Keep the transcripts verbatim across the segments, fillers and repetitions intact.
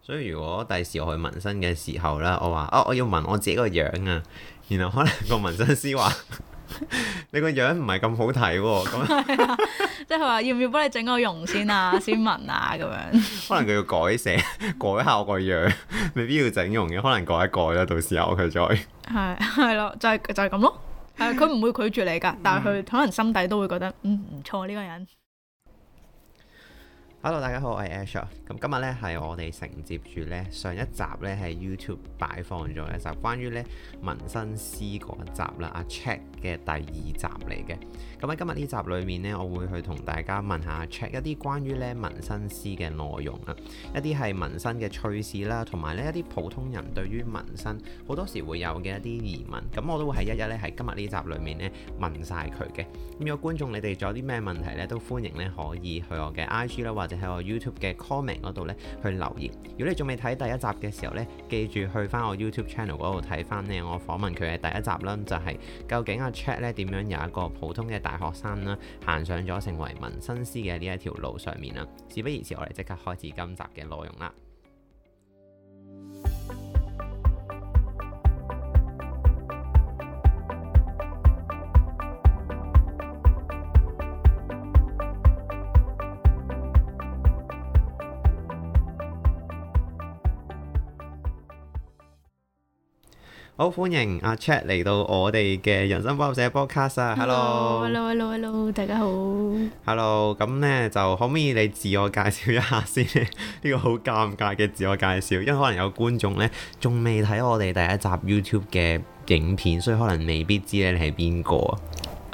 所以如果第時我去紋身嘅時候咧，我話哦，我要紋我自己個樣啊，然後可能個紋身師話你個樣唔係咁好睇喎，咁即係佢話要唔要幫你整個容先啊，先紋啊咁樣。可能佢要改寫改下我個樣，未必要整容嘅，可能改一改啦，到時候佢再係係咯，就係、是、就係、是、咁咯。係佢唔會拒絕你㗎，但係佢可能心底都會覺得嗯唔錯呢個人。 Hello， 大家好，我係 Ash。咁今日咧係我哋承接住咧上一集咧喺 YouTube 擺放咗一集關於咧紋身師嗰一集啦，阿 Chat 嘅第二集嚟嘅。咁喺今日呢集裏面咧，我會去同大家問下 Chat 一啲關於咧紋身師嘅內容啊，一啲係紋身嘅趣事啦，同埋咧一啲普通人對於紋身好多時會有嘅一啲疑問。咁我都會係一一咧喺今日呢集裏面咧問晒佢嘅。咁如果觀眾你哋仲有啲咩問題咧，都歡迎咧可以去我嘅 I G 啦，或者喺我 YouTube 嘅 comment 嗰度咧去留言。如果你仲未睇第一集嘅時候咧，記住去翻我 YouTube channel 嗰度睇翻咧我訪問佢嘅第一集啦，就係、是、究竟阿 Chat 咧點樣由一個普通嘅大學生啦，行上咗成為紋身師嘅呢一條路上面啦。事不宜遲，我哋即刻開始今集嘅內容啦。好，歡迎阿 Chat 嚟到我哋嘅人生補習社 podcast 啊 ！Hello，Hello，Hello，Hello，大家好。 Hello，咁呢就可唔可以你自我介紹一下先？呢、呢個好尷尬嘅自我介紹，因為可能有觀眾呢仲未睇我哋第一集 YouTube 嘅影片，所以可能未必知咧你係邊個啊。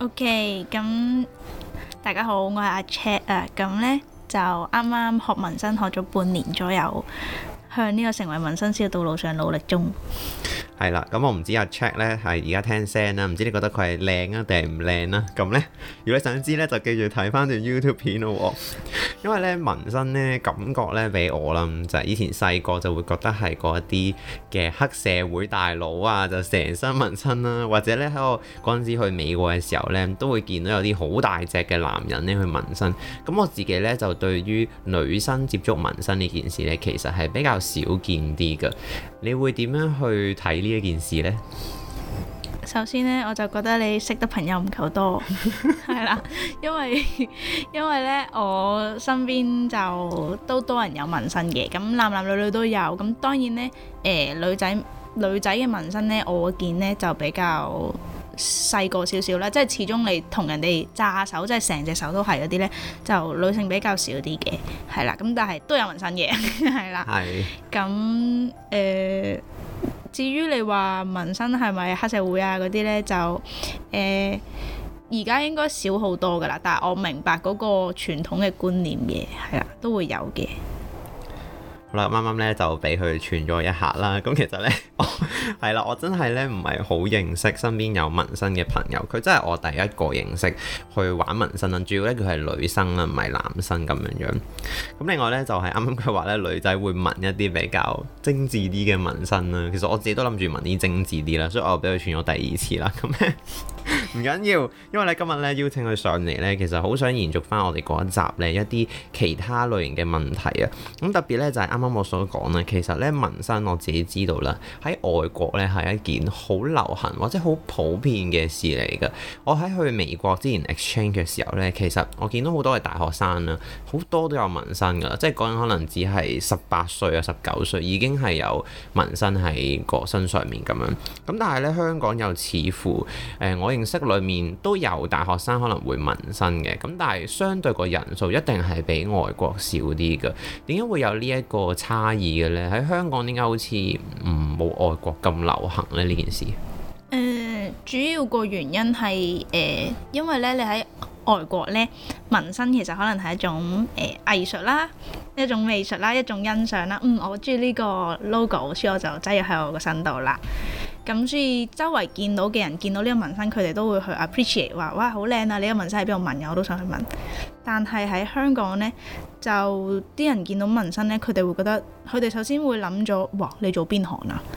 OK，咁大家好，我係阿 Chat 啊。咁呢就啱啱學紋身學咗半年左右，向呢個成為紋身師嘅道路上努力中。 係啦，咁我唔知阿 Chat 咧係而家聽聲啦，唔知你覺得佢係靚啊定係唔靚啦？咁呢，如果你想知呢，就記住睇翻段 YouTube 片咯。因為呢紋身呢感覺呢俾我啦，就係、是、以前細個就會覺得係嗰一啲嘅黑社會大佬啊，就成身紋身啦，或者呢，喺我嗰陣時去美國嘅時候呢，都會見到有啲好大隻嘅男人呢去紋身。咁我自己呢，就對於女生接觸紋身呢件事呢，其實係比較少見啲㗎。你會點樣去睇呢一件事呢？ 首先呢，我就覺得你識得朋友唔夠多，係啦，因為因為呢，我身邊就都多人有紋身嘅，咁男男女女都有，咁當然呢，誒、呃、女仔女仔嘅紋身呢，我見呢就比較細個少少啦，即係始終你同人哋揸手，即係成隻手都係嗰啲呢，就女性比較少啲嘅，係啦，咁但係都有紋身嘅，係啦，係，咁誒。至於你話紋身係咪黑社會啊嗰啲呢，就誒而家應該少好多噶啦，但係我明白嗰個傳統嘅觀念嘅，係啦，都會有嘅。 好啦，啱啱咧就俾佢串咗一下啦。咁其實咧，我係啦，我真係咧唔係好認識身邊有紋身嘅朋友。佢真係我第一個認識去玩紋身啦。主要咧佢係女生啦，唔係男生咁樣樣。咁另外咧就係啱啱佢話咧女仔會紋一啲比較精緻啲嘅紋身啦。其實我自己都諗住紋啲精緻啲啦，所以我俾佢串咗第二次啦。咁咧唔緊要，因為咧今日咧邀請佢上嚟咧，其實好想延續翻我哋嗰一集咧一啲其他類型嘅問題啊。咁特別咧就係啱啱我所講咧，其實咧紋身我自己知道啦，喺外國咧係一件好流行或者好普遍嘅事嚟㗎。我喺去美國之前 exchange 嘅時候咧，其實我見到好多嘅大學生啦，好多都有紋身㗎，即係嗰陣可能只係十八歲啊、十九歲已經係有紋身喺個身上面咁樣。咁但係咧香港又似乎誒、呃、我認識裏面都有大學生可能會紋身嘅，咁但係相對個人數一定係比外國少啲㗎。點解會有呢一個差異嘅咧？喺香港點解好似唔冇外國咁流行咧呢件事？誒、 呃，主要個原因係誒、呃，因為咧你喺外國咧紋身其實可能係一種誒、呃、藝術啦，一種美術啦，一種欣賞啦。嗯，我中意呢個 logo，所以我就擠入喺我個身度啦。咁所以周圍見到嘅人見到呢個紋身，佢哋都會去 appreciate 話哇好靚啊！你個紋身喺邊度紋嘅？我都想去紋。但係喺香港呢，就啲人見到紋身呢，佢哋會覺得佢哋首先會諗咗哇你做邊行啊？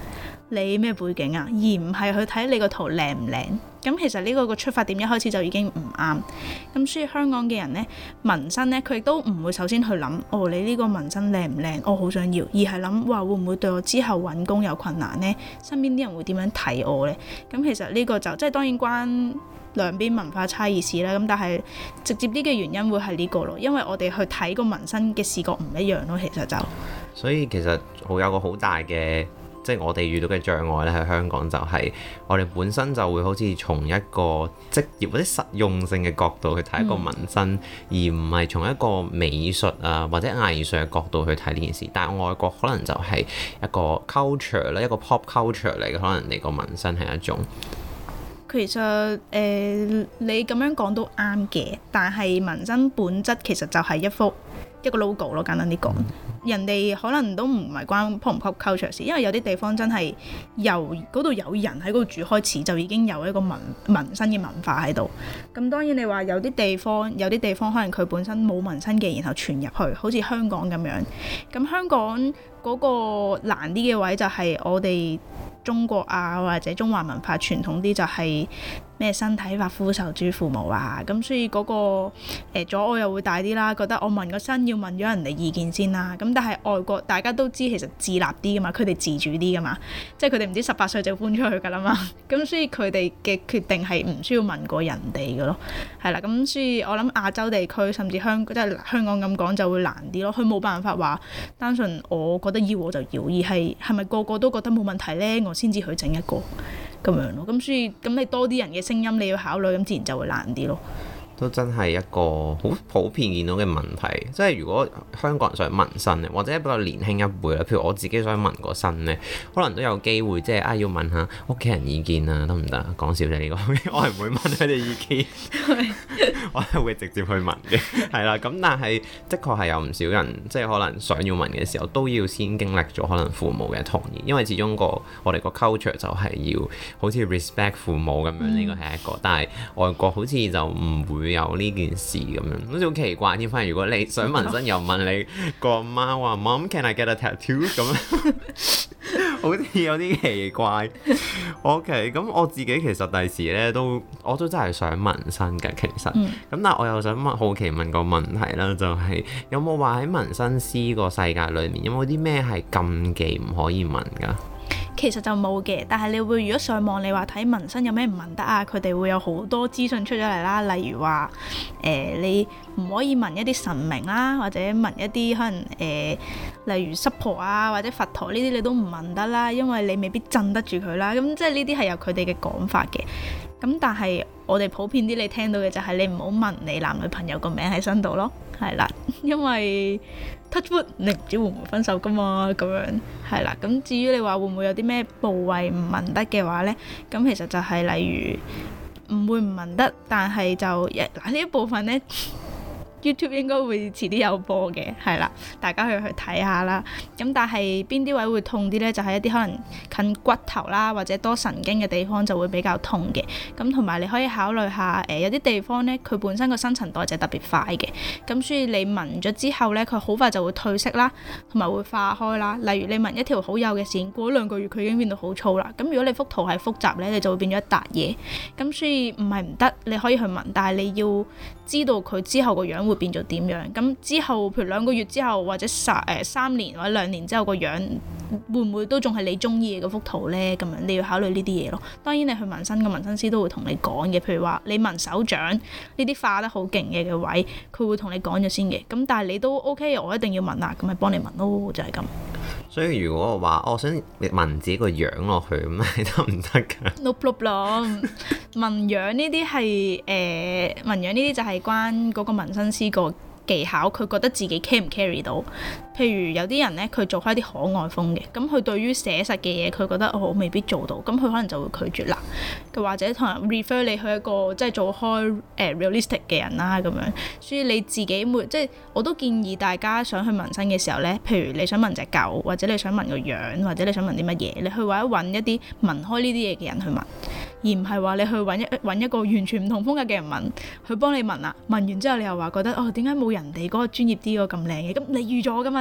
你咩背景啊，而唔係去睇你個圖靚唔靚。咁其實呢個個出發點一開始就已經唔啱。咁所以香港嘅人呢，紋身呢，佢亦都唔會首先去諗，哦，你呢個紋身靚唔靚，我好想要，而係諗，哇，會唔會對我之後揾工有困難呢？身邊啲人會點樣睇我呢？咁其實呢個就即係當然關兩邊文化差異事啦。咁但係直接啲嘅原因會係呢個咯，因為我哋去睇個紋身嘅視覺唔一樣咯。其實就所以其實好有個好大嘅，即係我哋遇到嘅障礙咧，喺香港就係我哋本身就會好似從一個職業或者實用性嘅角度去睇一個紋身，嗯、而唔係從一個美術啊或者藝術嘅角度去睇呢件事。但係外國可能就係一個 culture 咧，一個 pop culture 嚟嘅，可能你個紋身係一種。 其實誒、呃，你咁樣講都啱嘅，但係紋身本質其實就係一幅一個 logo 咯，簡單啲講。嗯人哋可能都唔係關 pop 唔 pop culture 事，因為有啲地方真係由嗰度有人喺嗰度住開始，就已經有一個紋紋身嘅文化喺度。咁當然你話有啲地方，有啲地方可能佢本身冇紋身嘅，然後傳入去，好似香港咁樣。咁香港嗰個難啲嘅位就係我哋中國啊，或者中華文化傳統啲就係咩身體髮膚受諸父母啊，咁所以嗰、那個誒、呃、阻礙又會大啲啦，覺得我紋個身要問咗人哋意見先啦。咁但係外國大家都知其實自立啲噶嘛，佢哋自主啲噶嘛，即係佢哋唔知十八歲就搬出去噶啦嘛，咁所以佢哋嘅決定係唔需要問過人哋嘅咯，係啦。咁所以我諗亞洲地區甚至香即係香港咁講就會難啲咯，佢冇辦法話單純我覺得要我就要，而係係咪個個都覺得冇問題呢？我先至去整一個咁樣咯。咁所以咁你多啲人嘅聲音你要考慮，咁自然就會難啲咯。 都真係一個好普遍見到嘅問題，即係如果香港人想紋身咧，或者比較年輕一輩啦，譬如我自己想紋個身咧，可能都有機會即係啊要問下屋企人意見啊，得唔得？講笑啫呢個，我係唔會問佢哋意見，我係會直接去紋嘅，係啦。咁但係的確係有唔少人即係可能想要紋嘅時候，都要先經歷咗可能父母嘅同意，因為始終個我哋個 culture 就係要好似 respect 父母咁樣，呢個係一個。但係外國好似就唔會有呢件事咁樣，好似好奇怪添。反而如果你想紋身，又問你個阿媽話 Mom can I get a tattoo 咁樣，好似有啲奇怪。OK，咁我自己其實第時咧都我都真係想紋身嘅，其實。咁、嗯、但係我又想問，好奇問個問題啦，就係、是、有冇話喺紋身師個世界裏面有冇啲咩係禁忌唔可以紋㗎？ 其實就冇嘅，但係你會如果上網你話睇紋身有咩唔紋得啊，佢哋會有好多資訊出咗嚟啦。例如話誒、呃、你唔可以紋一啲神明啦，或者紋一啲可能誒、呃、例如濕婆啊或者佛陀呢啲你都唔紋得啦，因為你未必鎮得住佢啦。咁即係呢啲係有佢哋嘅講法嘅。咁但係我哋普遍啲你聽到嘅就係你唔好紋你男女朋友個名喺身度咯，係啦，因為 touch wood 你唔知會唔會分手噶嘛，咁樣係啦。咁至於你話會唔會有啲咩部位唔紋得嘅話呢？咁其實就係例如唔會唔紋得，但係就嗱呢一部分呢。YouTube 應該會遲啲有播嘅，係啦，大家去去睇下啦。咁但係邊啲位會痛啲呢？就係、是、一啲可能近骨頭啦，或者多神經嘅地方就會比較痛嘅。咁同埋你可以考慮下，誒、呃、有啲地方呢，佢本身個新陳代謝特別快嘅，咁所以你紋咗之後呢，佢好快就會褪色啦，同埋會化開啦。例如你紋一條好幼嘅線，過咗兩個月佢已經變到好粗啦。咁如果你幅圖係複雜呢，你就會變咗一笪嘢。咁所以唔係唔得，你可以去紋，但係你要知道佢之後個樣會變咗點樣，咁之後譬如兩個月之後或者三誒三年或者兩年之後個樣會唔會都仲係你中意嘅嗰幅圖呢？咁樣你要考慮呢啲嘢咯。當然你去紋身嘅紋身師都會同你講嘅，譬如話你紋手掌呢啲化得好勁嘅嘅位，佢會同你講咗先嘅。咁但係你都 OK，我一定要紋啊，咁咪幫你紋咯，就係咁。 所以如果我話我想紋自己個樣落去，咁係得唔得㗎 ？No problem。紋樣呢啲係誒紋樣呢啲就係關嗰個紋身師個技巧，佢覺得自己 carry 唔 carry 到。譬如有啲人呢，佢做開啲可愛風嘅，咁佢對於寫實嘅嘢，佢覺得我、哦、未必做到，咁佢可能就會拒絕啦。佢或者同人 refer 你去一個即係做開誒、呃、realistic 嘅人啦，咁樣。所以你自己會即係我都建議大家想去紋身嘅時候呢，譬如你想紋隻狗，或者你想紋個樣，或者你想紋啲乜嘢，你去或者揾一啲紋開呢啲嘢嘅人去紋，而唔係話你去揾一揾一個完全唔同風格嘅人紋，去幫你紋啊。紋完之後你又話覺得哦，點解冇人哋嗰個專業啲嗰個咁靚嘅？咁你預咗㗎嘛？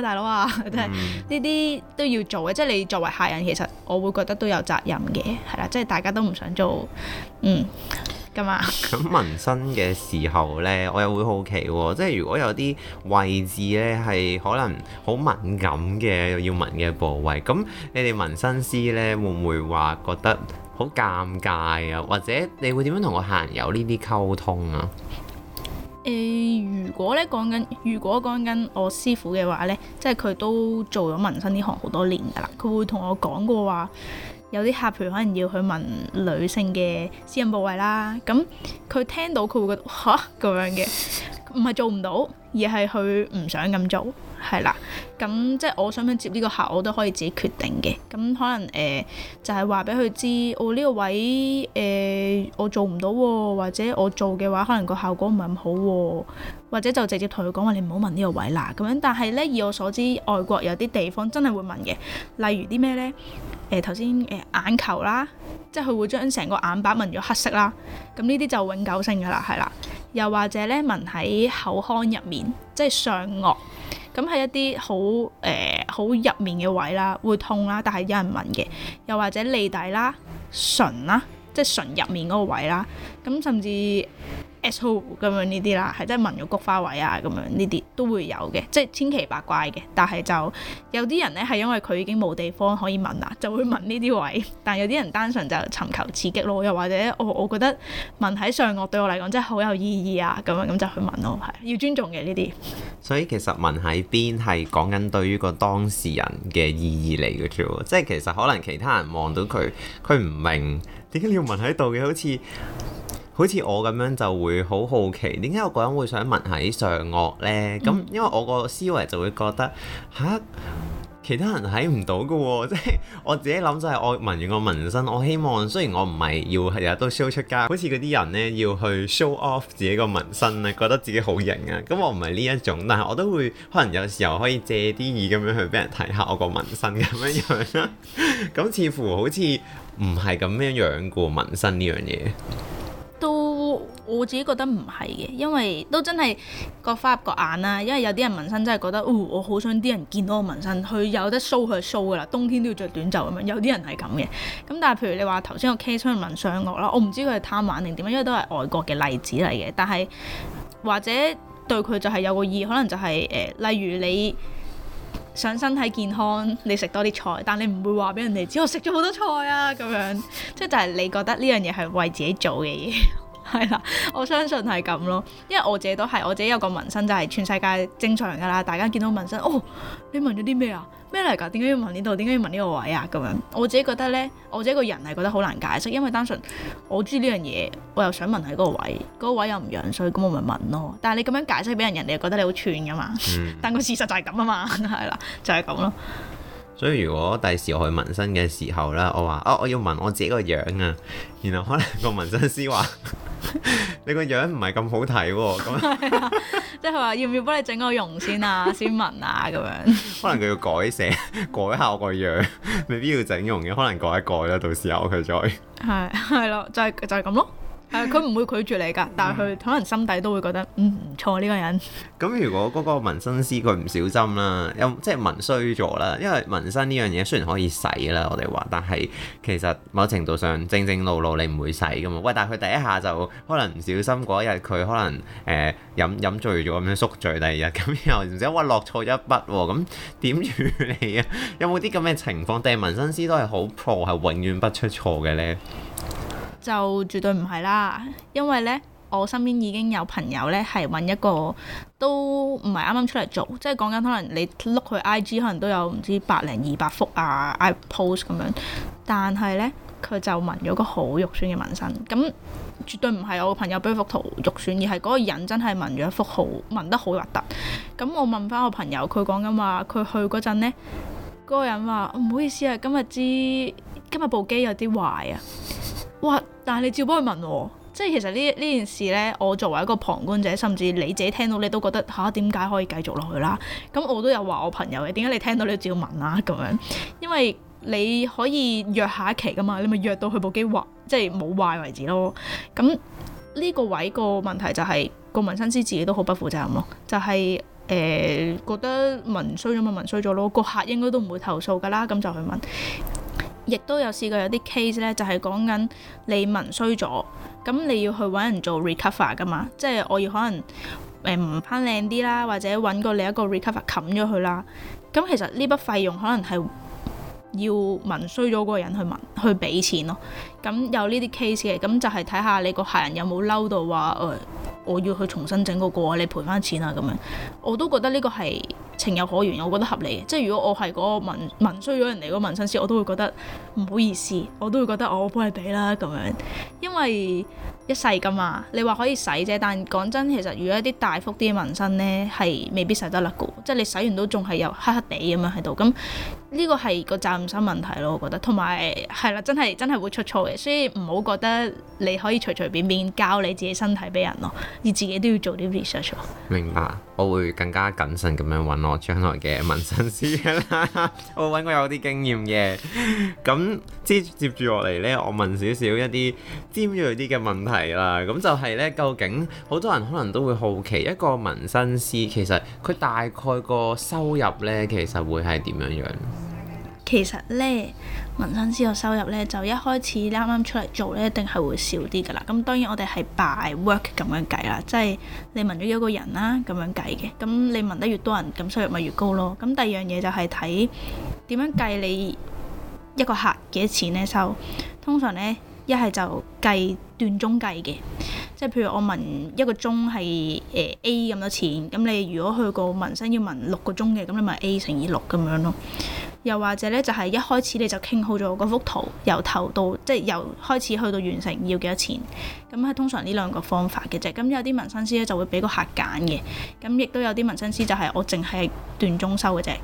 大佬啊，即係呢啲都要做嘅，即係你作為客人，其實我會覺得都有責任嘅，係啦，即係大家都唔想做，嗯。咁啊！咁紋身嘅時候呢，我又會好奇喎，即係如果有啲位置呢係可能好敏感嘅要紋嘅部位，咁你哋紋身師呢會唔會話覺得好尷尬啊？或者你會點樣同個客人有呢啲溝通啊？ 誒、呃，如果咧講緊，如果講緊我師傅嘅話呢，即係佢都做咗紋身呢行好多年㗎啦，佢會同我講過話。有啲客譬如可能要去紋女性嘅私隱部位啦，咁佢聽到佢會覺得吓咁樣嘅，唔係做唔到，而係佢唔想咁做，係啦。咁即係我想唔想接呢個客，我都可以自己決定嘅。咁可能誒、呃、就係話俾佢知，我、哦、呢、呢個位誒、呃、我做唔到喎，或者我做嘅話可能個效果唔係咁好喎，或者就直接同佢講話你唔好紋呢個位啦咁樣。但係咧以我所知，外國有啲地方真係會紋嘅，例如啲咩咧？誒頭先誒眼球啦，即係佢會將成個眼白紋咗黑色啦，咁呢啲就永久性㗎啦，係啦。又或者咧紋喺口腔入面，即係上顎，咁係一啲好誒好入面嘅位啦，會痛啦，但係有人紋嘅。又或者脷底啦、唇啦，即係唇入面嗰個位啦，咁甚至 asshole 咁樣呢啲啦，係即係紋咗菊花位啊，咁樣呢啲都會有嘅，即係千奇百怪嘅。但係就有啲人咧係因為佢已經冇地方可以紋啦，就會紋呢啲位。但係有啲人單純就尋求刺激咯，又或者我我覺得紋喺上顎對我嚟講真係好有意義啊，咁樣咁就去紋咯，係要尊重嘅呢啲。 所以其實紋喺邊係講緊對於個當事人嘅意義嚟嘅啫喎，即係其實可能其他人望到佢，佢唔明點解你要紋喺度嘅，好似。好似我咁樣就會好好奇，點解有個人會想紋喺上顎呢？咁、嗯、因為我個思維就會覺得吓，其他人睇唔到嘅喎，即係我自己諗就係我紋完個紋身，我希望雖然我唔係要日日都 show 出街，好似嗰啲人呢要去 show off 自己個紋身咧，覺得自己好型啊。咁我唔係呢一種，但係我都會可能有時候可以借啲意咁樣去俾人睇下我個紋身咁樣樣啦。咁似乎好似唔係咁樣樣過紋身呢樣嘢。 都我自己覺得唔係嘅，因為都真係各花入各眼啦。因為有啲人紋身真係覺得，哦，我好想啲人見到我紋身，佢有得 show 佢就 show 噶啦，冬天都要着短袖咁樣。有啲人係咁嘅。咁但係譬如你話頭先個 case 可能紋上顎啦，我唔知佢係貪玩定點樣，因為都係外國嘅例子嚟嘅。但係或者對佢就係有個意，可能就係、是、誒、呃，例如你想身體健康，你食多啲菜，但你唔會話俾人哋知我食咗好多菜啊咁樣，即係就係你覺得呢樣嘢係為自己做嘅嘢，係啦，我相信係咁咯。因為我自己都係，我自己有個紋身就係全世界正常㗎啦，大家見到紋身，哦，你紋咗啲咩啊？咩嚟㗎？點解要紋呢度？點解要紋呢個位啊？咁樣我自己覺得呢，我自己個人係覺得好難解釋，因為單純我中意呢樣嘢，我又想紋喺嗰個位，嗰、嗰個位又唔樣衰，咁我咪紋咯。但係你咁樣解釋俾人，人哋又覺得你好串㗎嘛。嗯、但個事實就係咁啊嘛，係啦，就係咁咯。 所以如果第時我去紋身嘅時候呢，我話哦，我要紋我自己個樣啊，然後可能個紋身師話你個樣唔係咁好睇喎，咁即係話要唔要幫你整個容先啊，先紋啊咁樣。 可能佢要改寫，改下我個樣，未必要整容嘅，可能改一改啦，到時候佢再係係咯，就係、係、就係、係、咁咯。係佢唔會拒絕你㗎，但係佢可能心底都會覺得嗯唔錯呢個人。 咁如果嗰個紋身師佢唔小心啦，又即係紋衰咗啦，因為紋身呢樣嘢雖然可以洗啦，我哋話，但係其實某程度上正正路路你唔會洗㗎嘛。喂，但係佢第一下就可能唔小心嗰一日佢可能誒、呃、飲飲醉咗咁樣宿醉，第二日咁又唔知哇落錯一筆喎，咁點處理啊？有冇啲咁嘅情況？定係紋身師都係好 pro 係永遠不出錯嘅呢？ 就絕對唔係啦，因為呢，我身邊已經有朋友呢係揾一個都唔係啱啱出嚟做，即係講緊可能你碌佢 I G 可能都有唔知百零二百幅啊 I post 咁樣，但係呢，佢就紋咗個好肉酸嘅紋身，咁絕對唔係我個朋友俾幅圖肉酸，而係嗰個人真係紋咗一幅好紋得好核突。咁我問翻我朋友，佢講緊話佢去嗰陣呢，嗰、嗰個人話唔好意思啊，今日知今日部機有啲壞啊。哇！但係你照幫佢紋喎，即係其實呢呢件事呢，我作為一個旁觀者，甚至你自己聽到你都覺得吓，點解可以繼續落去啦？咁我都有話我朋友嘅，點解你聽到你照紋啊咁樣？因為你可以約下一期噶嘛，你咪約到佢部機壞，即係冇壞為止咯。咁呢個位個問題就係、是、個紋身師自己都好不負責任咯，就係、是。 誒覺得紋衰咗咪紋衰咗咯，個客應該都唔會投訴㗎啦，咁就去紋。亦都有試過有啲 case 咧，就係講緊你紋衰咗，咁你要去揾人做 recover 㗎嘛，即係我要可能誒唔翻靚啲啦，或者揾個另一個 recover 冚咗佢啦。咁其實呢筆費用可能係要紋衰咗嗰個人去紋去俾錢咯。咁有呢啲 case 嘅，咁就係睇下你個客人有冇嬲到話誒、呃，我要去重新整嗰個，你賠翻錢啊咁樣。我都覺得呢個係情有可原，我覺得合理嘅。即係如果我係嗰個紋紋衰咗人哋嗰個紋身師，我都會覺得唔好意思，我都會覺得我幫你俾啦咁樣，因為一世噶嘛。你話可以洗啫，但講真，其實如果一啲大幅啲嘅紋身呢，係未必洗得甩嘅，即係你洗完都仲係有黑黑地咁樣喺度。咁呢個係個責任心問題咯，我覺得。同埋係啦，真係真係會出錯嘅，所以唔好覺得你可以隨隨便便教你自己身體俾人咯，你自己都要做啲 research。 明白，我會更加謹慎咁樣揾我將來嘅紋身師啦。我揾過有啲經驗嘅。咁接接住落嚟呢，我問少少一啲尖銳啲嘅問題啦。咁就係呢，究竟好多人可能都會好奇，一個紋身師其實佢大概個收入呢，其實會係點樣樣？ 其實呢，紋身師個收入呢，就一開始啱啱出嚟做呢，一定係會少啲噶啦。咁當然我哋係 by work 咁樣計啦，即係你紋咗幾個人啦咁樣計嘅。咁你紋得越多人，咁收入咪越高咯。咁第二樣嘢就係睇點樣計你一個客幾多錢呢收。通常呢，一係就計段鐘計嘅，即係譬如我紋一個鐘係誒 A 咁多錢，咁你如果去個紋身要紋六個鐘嘅，咁你咪 A 乘以六咁樣咯。又或者咧，就係一開始你就傾好咗嗰幅圖，由頭到即係由開始去到完成要幾多錢，咁係通常呢兩個方法嘅啫。咁有啲紋身師咧就會俾個客揀嘅，咁亦都有啲紋身師就係我淨係段鐘收嘅啫。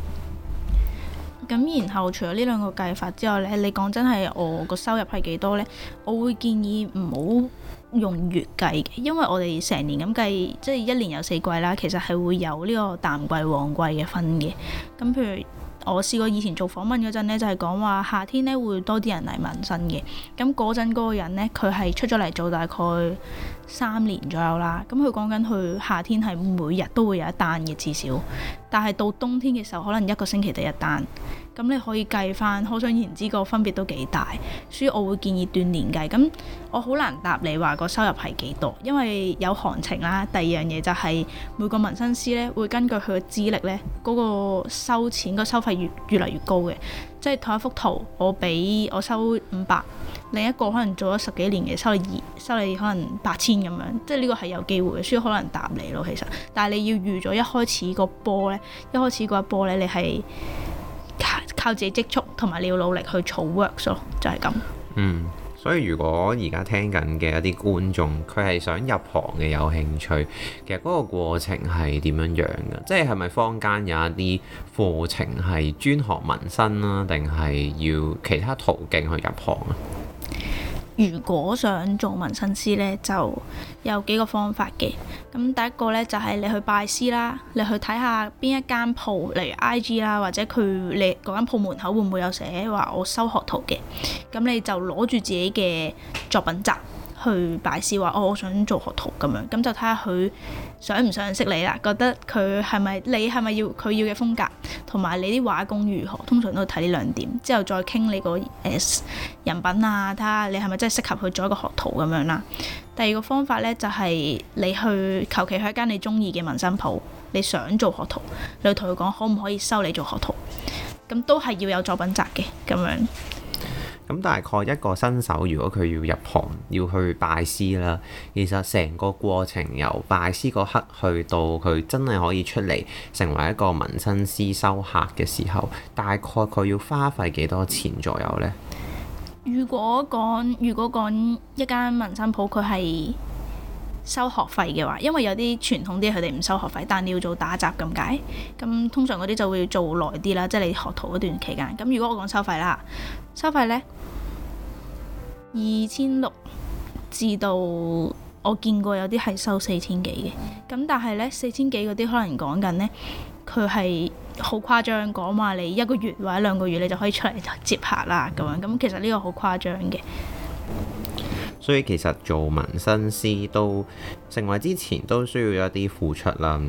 咁然後除咗呢兩個計法之外咧，你講真係我個收入係幾多咧？我會建議唔好用月計嘅，因為我哋成年咁計，即係一年有四季啦，其實係會有呢個淡季旺季嘅分嘅。咁譬如我試過以前做訪問嗰陣咧，就係講話夏天咧會多啲人嚟紋身嘅。咁嗰陣嗰個人咧，佢係出咗嚟做大概三年左右啦。咁佢講緊佢夏天係每日都會有一單嘅至少，但係到冬天嘅時候，可能一個星期得一單。咁你可以計翻，可想而知個分別都幾大。所以我會建議斷年計。咁我好難答你話個收入係幾多，因為有行情啦。第二樣嘢就係每個紋身師咧會根據佢嘅資歷咧，嗰個收錢個收費越越嚟越高嘅。即係同一幅圖，我俾我收五百，另一個可能做咗十幾年嘅收你二收你可能八千咁樣。即係呢個係有機會嘅，所以好難答你咯。其實，但係你要預咗一開始個波咧，一開始嗰一波咧，你係靠自己積蓄，同埋你要努力去儲 works 咯，就係咁。 嗯，所以如果而家聽緊嘅一啲觀眾，佢係想入行嘅有興趣，其實嗰個過程係點樣樣嘅？即係係咪坊間有一啲課程係專學紋身啦，定係要其他途徑去入行啊？ 如果想做紋身師呢，就有幾個方法嘅。咁第一個呢，就係你去拜師啦，你去睇下邊一間鋪，例如 I G 啦，或者佢你嗰間鋪門口會唔會有寫話我收學徒嘅？咁你就攞住自己嘅作品集去拜師，話哦，我想做學徒咁樣，咁就睇下佢想唔想識你啦，覺得佢係咪你係咪要佢要嘅風格，同埋你啲畫工如何，通常都睇呢兩點，之後再傾你個誒、呃、人品啊，睇下你係咪真係適合去做一個學徒咁樣啦。第二個方法呢，就係、是、你去求其去一間你中意嘅紋身鋪，你想做學徒，你去同佢講可唔可以收你做學徒，咁都係要有作品集嘅咁樣。 咁大概一個新手，如果佢要入行，要去拜師啦，其實成個過程由拜師嗰刻去到佢真係可以出嚟成為一個紋身師收客嘅時候，大概佢要花費幾多錢左右呢？ 如果講如果講一間紋身鋪佢係收學費嘅話，因為有啲傳統啲佢哋唔收學費，但你要做打雜咁解，咁通常嗰啲就會做耐啲啦，即係你學徒嗰段期間。咁如果我講收費啦，收費呢，二千六至到我見過有啲係收四千幾嘅，咁但係呢，四千幾嗰啲可能講緊呢，佢係好誇張，講話你一個月或者兩個月你就可以出嚟接客啦咁樣，咁其實呢個好誇張嘅。 所以其實做紋身師都成為之前都需要一啲付出啦。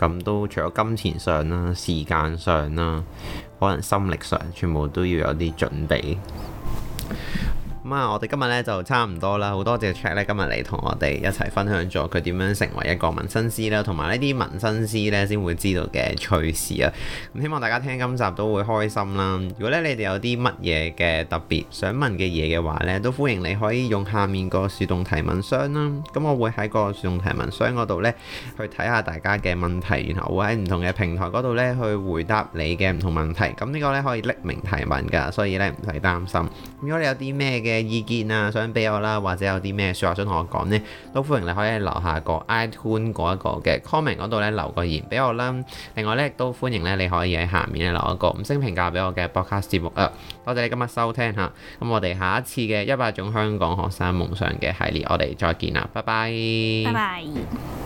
咁都除咗金錢上啦、時間上啦，可能心力上，全部都要有啲準備。咁啊，我哋今日咧就差唔多啦，好多謝 Chat 咧今日嚟同我哋一齊分享咗佢點樣成為一個紋身師啦，同埋呢啲紋身師咧先會知道嘅趣事啊。咁希望大家聽今集都會開心啦。如果咧你哋有啲乜嘢嘅特別想問嘅嘢嘅話咧，都歡迎你可以用下面個樹洞提問箱啦。咁我會喺個樹洞提問箱嗰度咧去睇下大家嘅問題，然後會喺唔同嘅平台嗰度咧去回答你嘅唔同問題。咁呢個咧可以匿名提問㗎，所以咧唔使擔心。如果你有啲咩嘅意見啊，想俾我啦，或者有啲咩說話想同我講呢，都歡迎你可以留下個 iTunes 嗰一個嘅 comment 嗰度咧留個言俾我啦。另外咧亦都歡迎咧你可以喺下面咧留一個五星評價俾我嘅 podcast 節目啊。多謝你今日收聽吓，咁我哋下一次嘅一百種香港學生夢想嘅系列，我哋再見啦，拜拜。 拜拜。